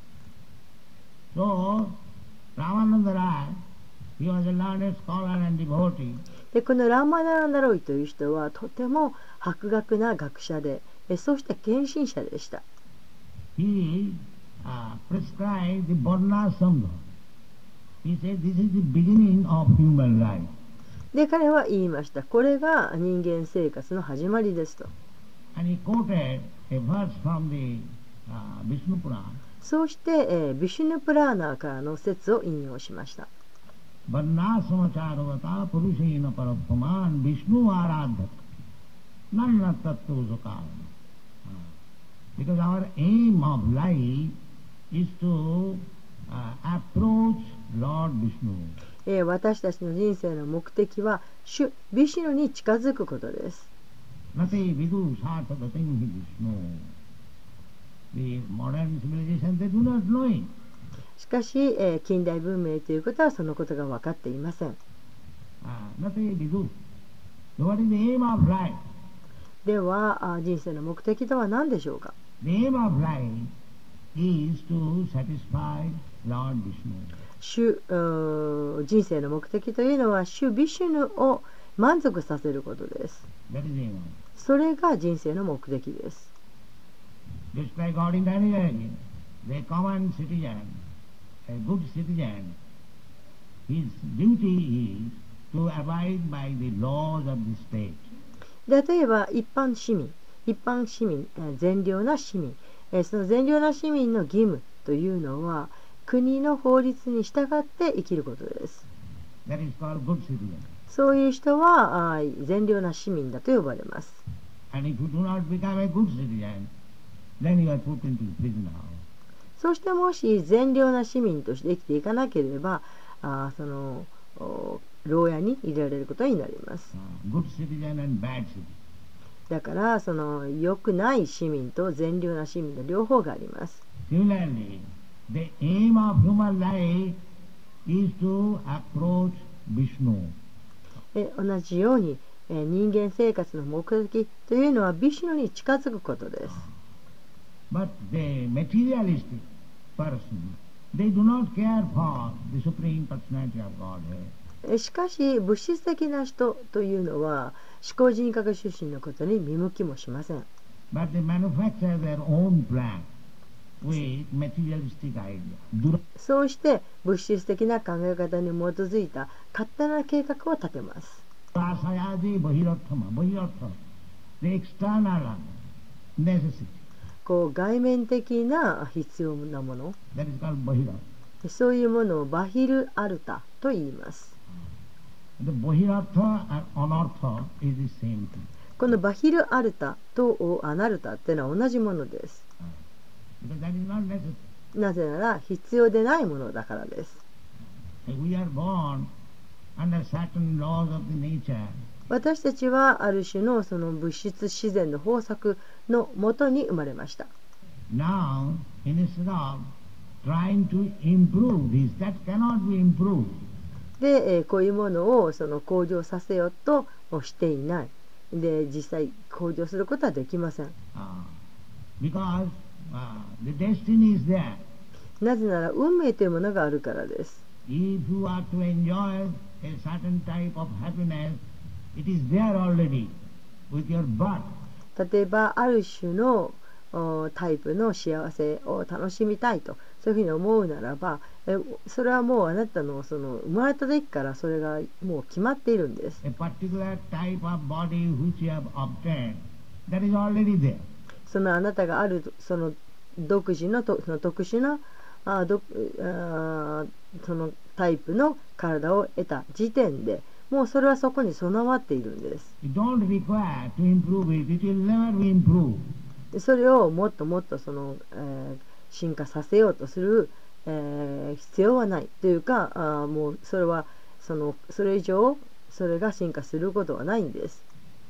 So, Ramananda Raj, he was a learned scholar and devotee. でこのラーマナランダロイという人はとても博学な学者で、えそして献身者でした。 He uh, prescribed the Varna Sangha. He said this is the beginning of human life. で彼は言いました。これが人間生活の始まりですと。 And he quoted a verse from the uh, Vishnu Purana. そうして、えービシュヌプラーナーからの説を引用しました。 Varna samacharvata purushena parapaman Vishnu aradhata nanna tattva sakara. Because our aim of life is to uh, approach Lord Vishnu. えー私たちの人生の目的は主ビシュヌに近づくことです。 Nate vidu sarthadatim hi Vishnu. The modern civilization, they do not know it. しかし、えー近代文明ということはそのことが分かっていません。 Uh, Nate vidu. So what is the aim of life? ではあ人生の目的とは何でしょうか。 The aim of life is to satisfy Lord Vishnu. 主うー人生の目的というのは主ビシュヌを満足させることです。 That is the aim of life. それが人生の目的です。 Just like ordinary, the common citizen, a good citizen, his duty is to abide by the laws of the state. で例えば一般市民、一般市民、えー善良な市民、えーその善良な市民の義務というのは国の法律に従って生きることです。 That is called good citizen. そういう人はあー善良な市民だと呼ばれます。 And if you do not become a good citizen, then you are put into prison house. そしてもし善良な市民として生きていかなければ、あーそのお牢屋に入れられることになります。 Uh, good citizen and bad citizen. だからその良くない市民と善良な市民の両方があります。 Similarly, the aim of human life is to approach Vishnu. え同じように、えー人間生活の目的というのはビシュヌに近づくことです。 But the materialistic person, they do not care for the Supreme Personality of Godhead. えしかし物質的な人というのは思考人格出身のことに見向きもしません。 But they manufacture their own plan with materialistic idea. Dura- そうして物質的な考え方に基づいた勝手な計画を立てます。 Durasayadi Bahirathama, Bahirartha, the external necessity. こう外面的な必要なもの、 That is called Bahirartha. そういうものをバヒルアルタと言います。 The Bahirartha and Anartha is the same thing. このバヒルアルタとアナルタっていうのは同じものです。 Because that is not necessary. なぜなら必要でないものだからです。 We are born under certain laws of the nature. 私たちはある種のその物質自然の法則のもとに生まれました。 Now, instead of trying to improve this, that cannot be improved. で、えーこういうものをその向上させようとしていない。で、実際向上することはできません。 Uh, because uh, the destiny is there. なぜなら運命というものがあるからです。 If you are to enjoy a certain type of happiness, it is there already with your birth. 例えばある種のおタイプの幸せを楽しみたいとそういうふうに思うならばえそれはもうあなたのその生まれた時からそれがもう決まっているんです。 A particular type of body which you have obtained, that is already there. そのあなたがあるその独自のとその特殊なあどあそのタイプの体を得た時点でもうそれはそこに備わっているんです。 You don't require to improve it, it will never be improved. でそれをもっともっとその、えー進化させようとする、えー必要はないというかあもうそれはそのそれ以上それが進化することはないんです。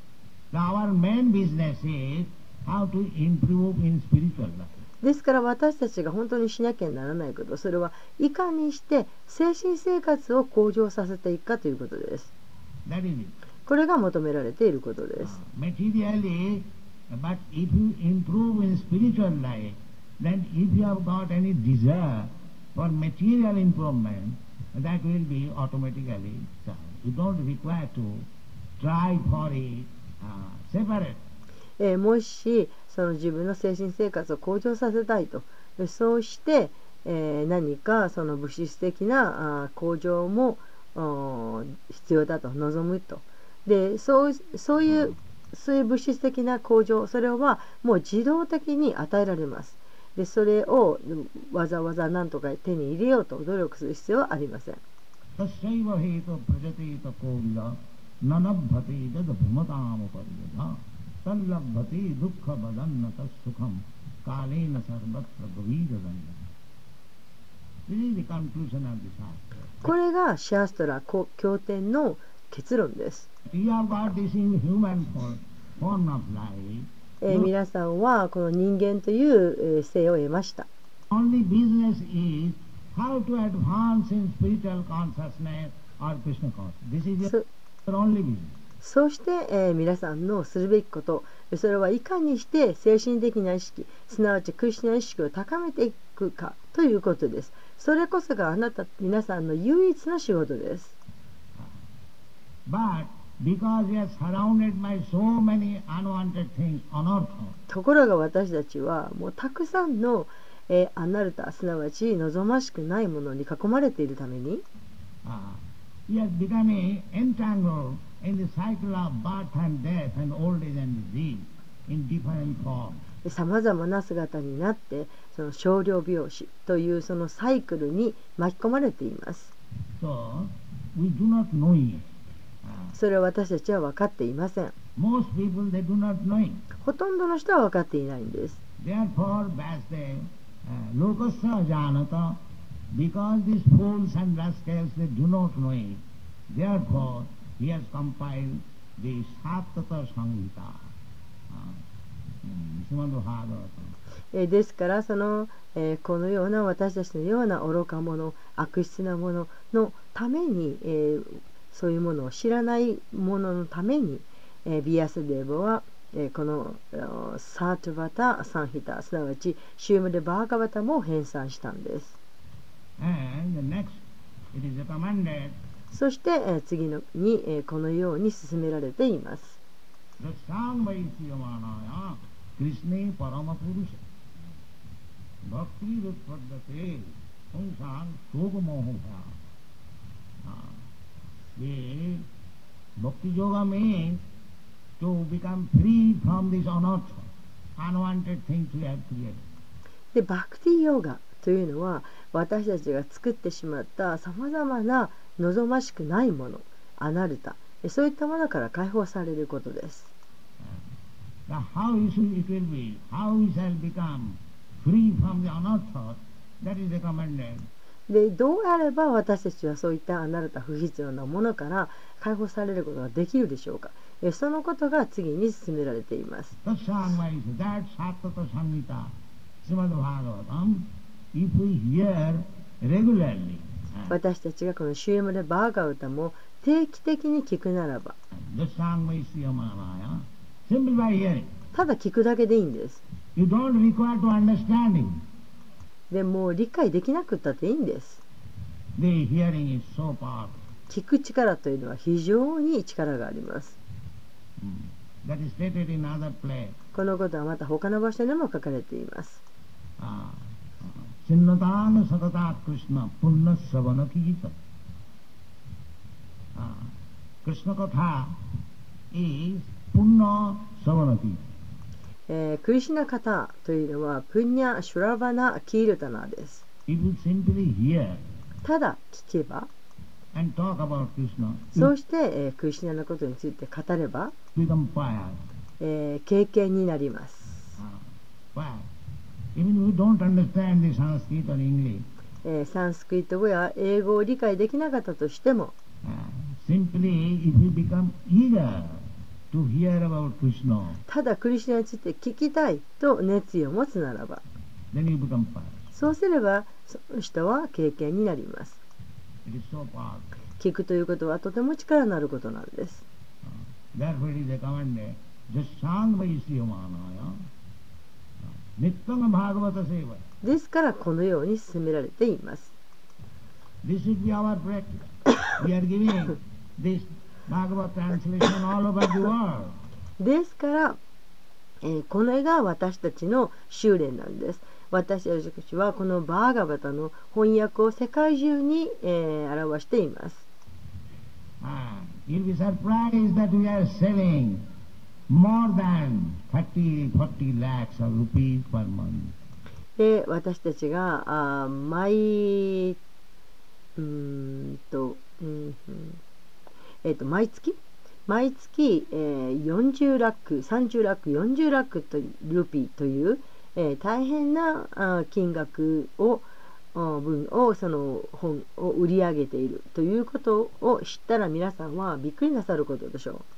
Now our main business is how to improve in spiritual life. ですから私たちが本当にしなきゃならないことそれはいかにして精神生活を向上させていくかということです。 That is it. これが求められていることです。 Materially, but if you improve in spiritual life, then if you have got any desire for material improvement, that will be automatically done. You don't require to try for it uh, separate. えーもしその自分の精神生活を向上させたいとでそうして、えー何かその物質的なあー向上もおー必要だと望むとでそうそういうそういう物質的な向上それはもう自動的に与えられます。でそれをわざわざ何とか手に入れようと努力する必要はありません。 Tasyaiva hetu prajatita kovila nanabhati tad bhumatamu pariyada tallabhati dukkha badannata sukham kalena sarvatra gavidadanda. This is the conclusion of the Shastra. これがシャーストラ経典の結論です。 You have got this in human form, form of life. えー皆さんはこの人間というえー性を得ました。 Only business is how to advance in spiritual consciousness or Krishna consciousness. This is your only business. そうして、えー皆さんのするべきことそれはいかにして精神的な意識すなわちクリスチャン意識を高めていくかということです。それこそがあなた皆さんの唯一の仕事です。 But because we are surrounded by so many unwanted things on earth, ところが私たちはもうたくさんの、えーアナルタすなわち望ましくないものに囲まれているために Uh, we are becoming entangled in the cycle of birth and death and old age and disease in different forms. さまざまな姿になってその少量病死というそのサイクルに巻き込まれています。 So, we do not know it. Uh, それは私たちは分かっていません。 most people, they do not know it. ほとんどの人は分かっていないんです。 Therefore, Vyasdev, uh, lokasya janata, because these fools and rascals, they do not know it, therefore, he has compiled the Sattata Samhita, uh, Srimad Bhagavatam. えーですからその、えーこのような私たちのような愚か者悪質な者のために、えーそういうものを知らない者のために、えービアスデーボは、えーこのあーサートバタ・サンヒタすなわちシュームデ・バーガバタも編纂したんです。 And the next, it is recommended, そして、えー次のに、えーこのように進められています。 the Sangvaisyamanaya, Krishna Paramapurusha, Bhakti Rutpadate, Punsang Sogamohava. The Bhakti Yoga means to become free from this unearthly, unwanted things we have created. でバクティヨガというのは私たちが作ってしまったさまざまな望ましくないものアナルタそういったものから解放されることです。 Now how it will be, how we shall become free from the unearthly, that is recommended. でどうやれば私たちはそういったアナルタ不必要なものから解放されることができるでしょうか。えそのことが次に進められています。 That Sattata Samhita, Srimad Bhagavatam, if we hear regularly, 私たちがこのシュームレ・バーガウタも定期的に聞くならば the Sangvaisyamanaya, simply by hearing, ただ聞くだけでいいんです。 you don't require to understanding. でもう理解できなくったっていいんです。 The hearing is so powerful. 聞く力というのは非常に力があります。 That is stated in other place. このことはまた他の場所でも書かれています。 Sinnatana Satata Krishna Punna Savana Kijita. Krishna Katha is Punna Savana Kijita. えークリシュナカタというのはプニャ・シュラバナ・キールタナです。 If you simply hear ただ聞けば and talk about Krishna, そうして、えークリシュナのことについて語れば、 you become pious. えー経験になります。 Why? Even we don't understand the Sanskrit or English, えーサンスクリット語や英語を理解できなかったとしても uh, simply if you become eager to hear about Krishna, ただクリシュナについて聞きたいと熱意を持つならば then you become pious. そうすればその人は経験になります。 It is so powerful. 聞くということはとても力のあることなんです。 Therefore it is recommended, just Sangvaisyamanaya, Nityam Bhagavata Seva. ですからこのように進められています。 This should be our practice. We are giving this Bhagavad translation all over the world. ですから、えーこれが私たちの修練なんです。私たちはこのバーガバタの翻訳を世界中に、えー表しています。 Ah, you'll be surprised that we are selling more than thirty, forty lakhs of rupees per month. で私たちがあー毎うーんと、うんうんえー、と毎月毎月、えー、よんじゅうラックさんじゅうラックよんじゅうラックとルピーという、えー大変なあ金額をあ分をその本を売り上げているということを知ったら皆さんはびっくりなさることでしょう。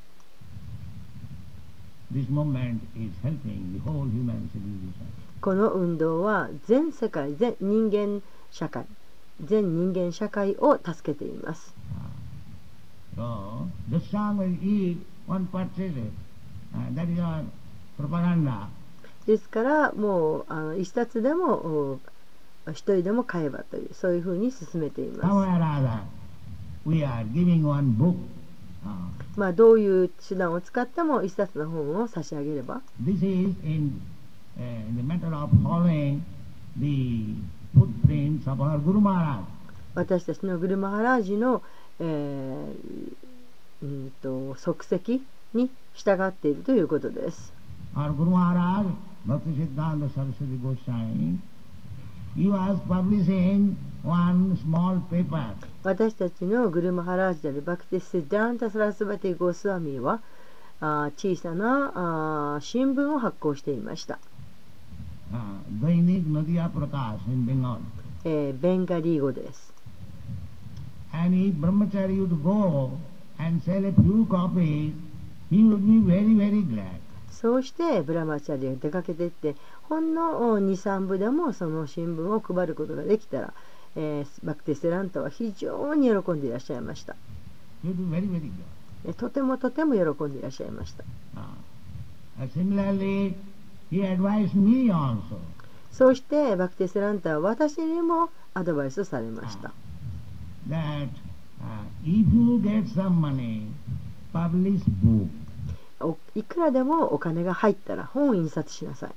This movement is helping the whole human civilization. この運動は全世界全人間社会全人間社会を助けています。 So, the song will eat, one purchase it. Uh, that is our propaganda. ですからもうあの一冊でもお一人でも買えばというそういうふうに進めていま Somehow す。 or other, we are giving one book. Uh, まあどういう手段を使っても一冊の本を差し上げれば this is in, uh, in the matter of following the footprints of our Guru Maharaj. 私たちのグルマハラージの、えーうんと足跡に従っているということです。 Our Guru Maharaj, Bhaktisiddhanta Saraswati Goswami, he was publishing one small paper. 私たちのグルマハラージであるバクティ・シッダンタ・サラスバティ・ゴスワミはあ小さなあ新聞を発行していました。 Uh, Dainik Nadia Prakash in Bengal. えーベンガリー語です。 And if brahmachari would go and sell a few copies, he would be very, very glad. そうしてブラマチャリが出かけていってほんのに、さんぶでもその新聞を配ることができたら、えーバクティ・セランタは非常に喜んでいらっしゃいました。 He would be very, very glad. えとてもとても喜んでいらっしゃいました。 Uh, similarly, he advised me also. そうしてバクティ・セランタは私にもアドバイスされました。 That uh, if you get some money, publish book. おいくらでもお金が入ったら本を印刷しなさい。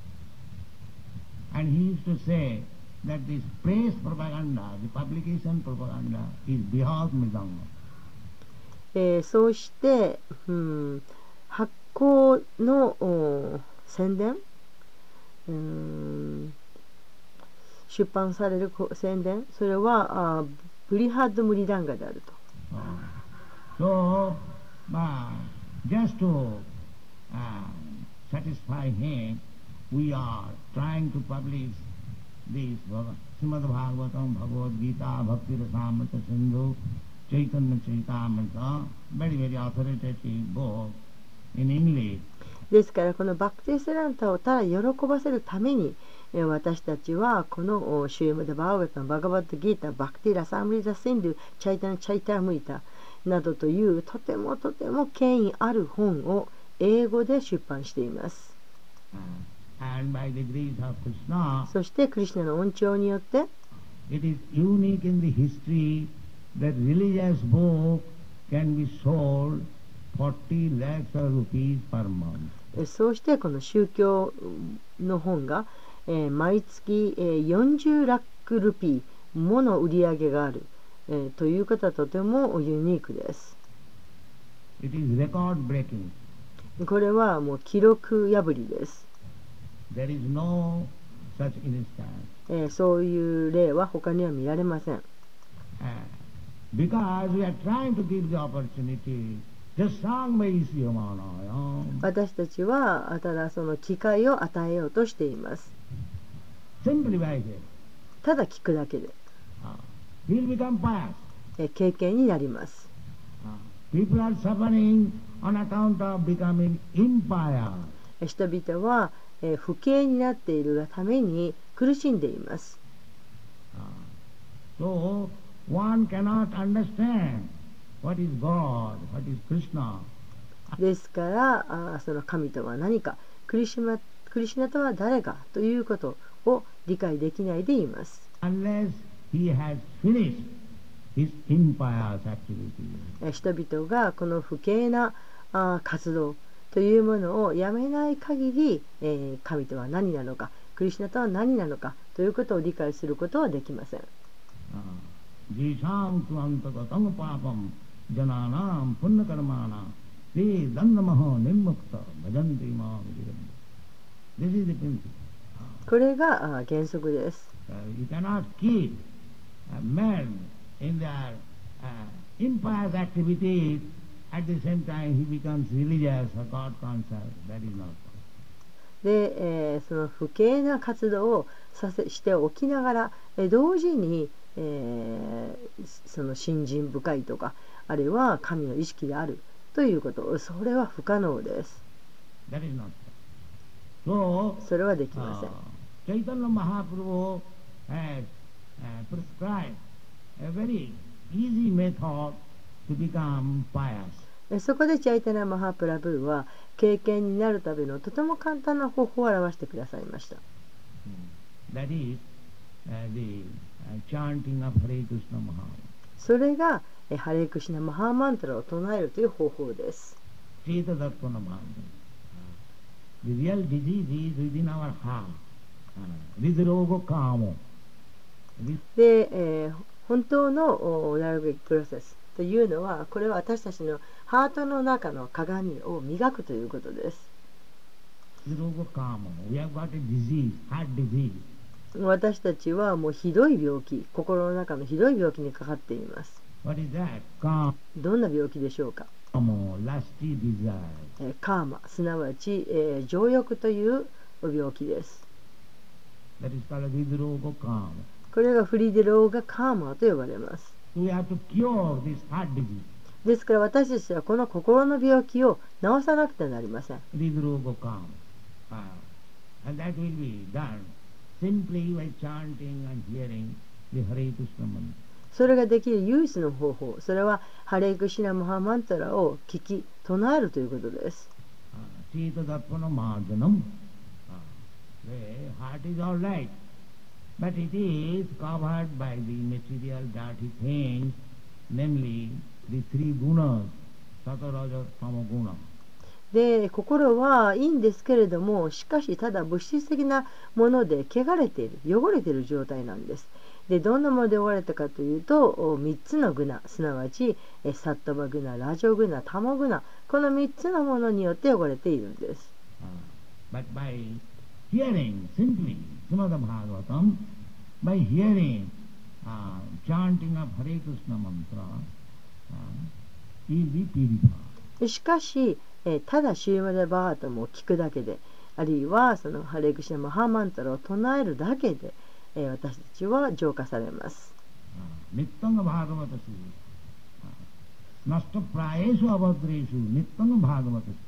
And he used to say that this press propaganda, the publication propaganda, is bihad midanga. えーそうして、うん、発行のお宣伝、うん出版されるこ宣伝、それはあブリハッドムリダンガであると。 So, uh, just to uh, satisfy him, we are trying to publish this Srimad Bhagavatam, Bhagavad Gita, Bhakti Rasamrita Sindhu, Chaitanya Charitamrita, very, very authoritative book in English. ですからこのバクティ・セランタをただ喜ばせるためにえ私たちはこのシューム・デ・バーガタン、バガバッド・ギータ、バクティ・ラサムリザ・シンドゥ、チャイタン・チャイター・ムイタなどというとてもとても権威ある本を英語で出版しています。 And by the grace of Krishna, そしてクリシュナの恩寵によって it is unique in the history that religious book can be sold forty lakhs of rupees per month. そうしてこの宗教の本が、えー、毎月、えー、よんじゅうラックルピーもの売り上げがある、えー、ということはとてもユニークです。 It is record breaking. これはもう記録破りです。 There is no such instance. えー、そういう例は他には見られません。 Uh, because we are trying to give the opportunity, just sang by Isiyamana. 私たちはただその機会を与えようとしています。 Simply by it. ただ聞くだけで、 Uh, we'll become pious. えー、経験になります。 Uh, people are suffering on account of becoming impious. 人々は、えー、不敬になっているがために苦しんでいます。 Uh, so one cannot understand what is God, what is Krishna. ですからあその神とは何か、クリシュナ、クリシュナとは誰かということを理解できないでいます。 Unless he has finished his impious activity. 人々がこの不敬なあ活動というものをやめない限り、えー、神とは何なのか、クリシュナとは何なのかということを理解することはできません。 Jisham tuantagatam papam jananam punnakarmana te dandamaho nimmukta bhajanti ma vidyanti. This is the principle. これが原則です。 You cannot keep a man in their uh, impious activities at the same time he becomes religious or God conscious. That is not. で、えー、その不敬な活動をさせしておきながら、えー、同時に、えー、その信心深いとか、あるいは神の意識であるということ、それは不可能です。 That is not. So, それはできません。 uh, Chaitanya Mahaprabhu has uh, prescribed a very easy method to become pious. そこでチャイタナ・マハプラブーは経験になるためのとても簡単な方法を表してくださいました。 That is uh, the uh, chanting of Hare Krishna Maha. それがハレクシナ・マハーマントラを唱えるという方法です。 Cheta Darpana Mantra. The real disease is within our heart. Ridrogo Kamo. で、えー本当のおやるべきプロセスというのは、これは私たちのハートの中の鏡を磨くということです。 We have got a disease, heart disease. 私たちはもうひどい病気、心の中のひどい病気にかかっています。 What is that? Kama, どんな病気でしょうか。 lusty desire. えーカーマ、すなわち、えー情欲という病気です。 That is called hridroga kama. これがフリデローガカーマと呼ばれます。 We have to cure this heart disease. ですから私たちはこの心の病気を治さなくてはなりません。 Hridroga kama. Ah, and that will be done simply by chanting and hearing the Hare Krishna mantra. それができる唯一の方法、それはハレイクシナマハマンタラを聞き唱えるということです。 Chita darpana marjanam. The heart is all right, but it is covered by the material dirty things, namely the three gunas, sattva, rajas, tama guna. で、心はいいんですけれども、しかし、ただ物質的なもので汚れている、汚れている状態なんです。で、どんなもので汚れたかというと、みっつのグナ、すなわち、サットバグナ、ラジョグナ、タモグナ、このみっつのものによって汚れているんです。 Uh, but by hearing simply Srimad Bhagavatam, by hearing, uh, chanting of Hare Krishna mantra, uh, he will be purified. しかし、えーただシューマデバータムを聞くだけで、あるいはそのハレクシナマハマンタラを唱えるだけで、えー私たちは浄化されます。 ニッタンガバーガバタス、ナスタプラエシュアバトレシュ、ニッタンガバーガバタス。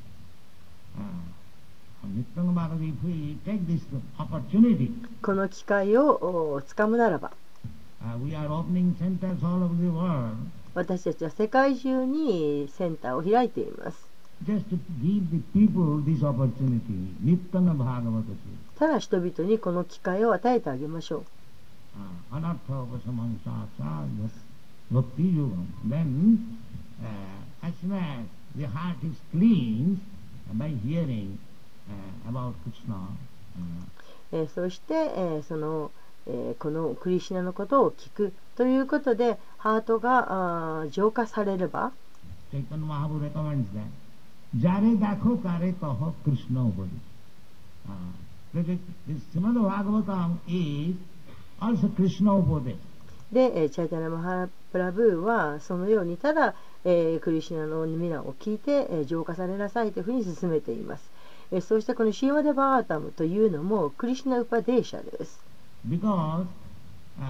ニッタンガバーガバタス、if we take this opportunity, この機会をおつかむならば、 uh, we are opening centers all over the world, 私たちは世界中にセンターを開いています。 just to give the people this opportunity, ニッタンガバーガバタス。 ただ人々にこの機会を与えてあげましょう。 アナタオパサマンサーサーバクティヨガム。Then, uh, as soon as the heart is cleansed by hearing uh, about Krishna, uh, えーそして、えーその、えーこのクリシュナのことを聞くということでハートがあー浄化されれば、 Chaitanya Mahaprabhu recommends that Jare dakho kare taho Krishna upadi. Uh, that is, this Srimad Bhagavatam is also Krishna upadi. で、えーチャイタナ・マハプラブーはそのようにただ、えークリシュナの皆を聞いて、えー浄化されなさいというふうに進めています。えーそしてこのシーマデ・バータムというのもクリシュナ・ウパデーシャです。 Because uh,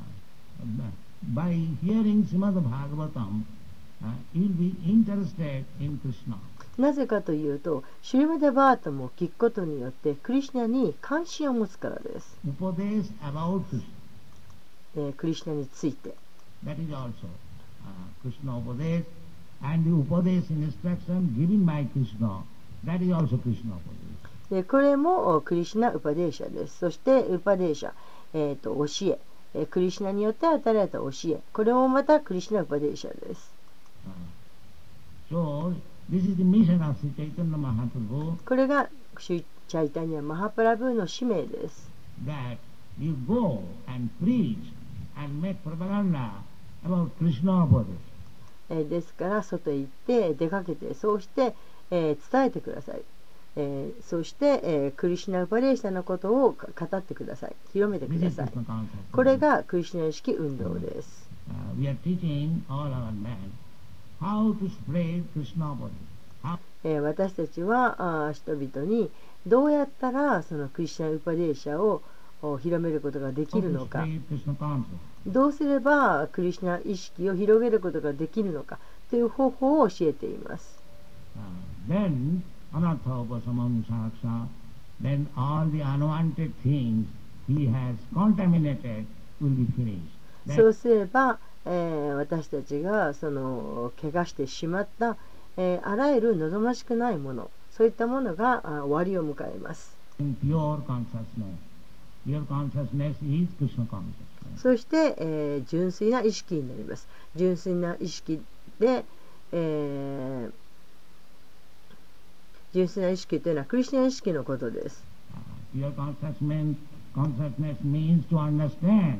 by hearing Srimad Bhagavatam, uh, you will be interested in Krishna. なぜかというと、シュリマデ・バータムを聞くことによってクリシュナに関心を持つからです。 Upadesh about Krishna. えークリシュナについて。 That is also uh, Krishna Upadesh, and the Upadesh instruction given by Krishna, that is also Krishna Upadesh. でこれもクリシュナ・ウパデーシャです。そしてウパデーシャ、えー、と教ええークリシュナによって与えられた教え、これもまたクリシュナ・ウパデーシャです。 Uh, so, this is the mission of Sri Chaitanya Mahaprabhu, これがシュチャイタニア・マハプラブーの使命です。 that you go and preach and make propaganda about Krishna Upadesh. えーですから外へ行って出かけて、そうして、えー伝えてください。えーそして、えークリシュナ・ウパデーシャのことを語ってください。広めてく This だ is さい。 Krishna consciousness. これがクリシュナ意識運動です。 Uh, we are teaching all our men how to spread Krishna Upadesh. How えー私たちはあー人々にどうやったらそのクリシュナ・ウパデーシャをお広めることができる to のか、 spread Krishna consciousness. どうすればクリシュナ意識を広げることができるのかという方法を教えています。 Uh, then, anartha upasamam saksha, then all the unwanted things he has contaminated will be finished. そう That, すれば、えー私たちがその怪我してしまった、えーあらゆる望ましくないもの、そういったものがあ終わりを迎えます。 in pure consciousness. Pure consciousness is Krishna consciousness. そして、えー純粋な意識になります。純粋な意識で、えー純粋な意識というのはクリスチャン意識のことです。 Uh, pure consciousness means, consciousness means to understand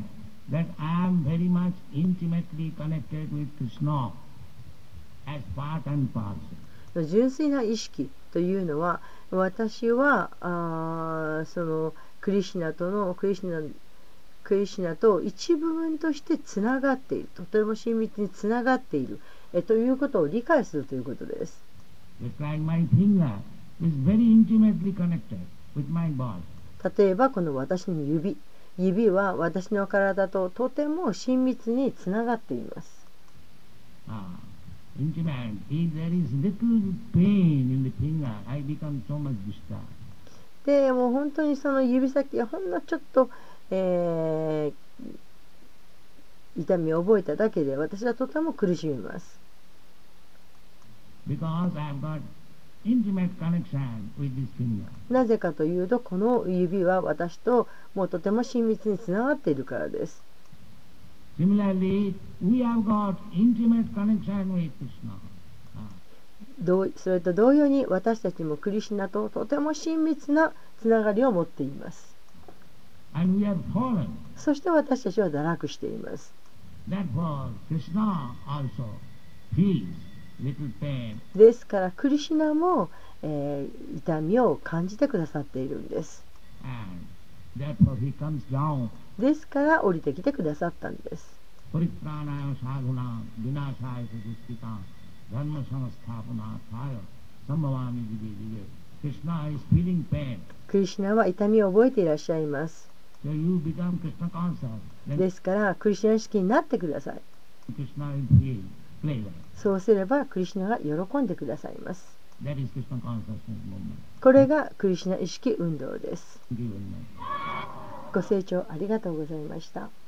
that I am very much intimately connected with Krishna as part and parcel. 純粋な意識というのは、私はあーそのクリシュナとのクリシュナクリシュナと一部分としてつながっている、とても親密につながっているえということを理解するということです。 Just like my finger is very intimately connected with my body. 例えばこの私の指指は私の体ととても親密につながっています。 Ah, intimate. If there is little pain in the finger, I become so much disturbed. でもう本当にその指先がほんのちょっと、えー、痛みを覚えただけで私はとても苦しみます。 Because I have got intimate connection with this finger. なぜかというと、この指は私ともうとても親密につながっているからです。 Similarly, we have got intimate connection with Krishna. 同それと同様に私たちもクリシュナととても親密なつながりを持っています。 And we have fallen. そして私たちは堕落しています。 Therefore, Krishna also feels little pain. ですからクリシュナも、えー、痛みを感じてくださっているんです。 And therefore he comes down. ですから降りてきてくださったんです。 Paritranaya sadhuna vinashaya suduskita dharma samasthapanataya sambhavami jive jive. Krishna is feeling pain. クリシュナは痛みを覚えていらっしゃいます。 So you become Krishna conscious. Then ですからクリシュナ意識になってください。 Krishna will feel pleasure. そうすればクリシュナが喜んでくださいます。 That is Krishna consciousness movement. これがクリシュナ意識運動です。 Thank you very much. ご清聴ありがとうございました。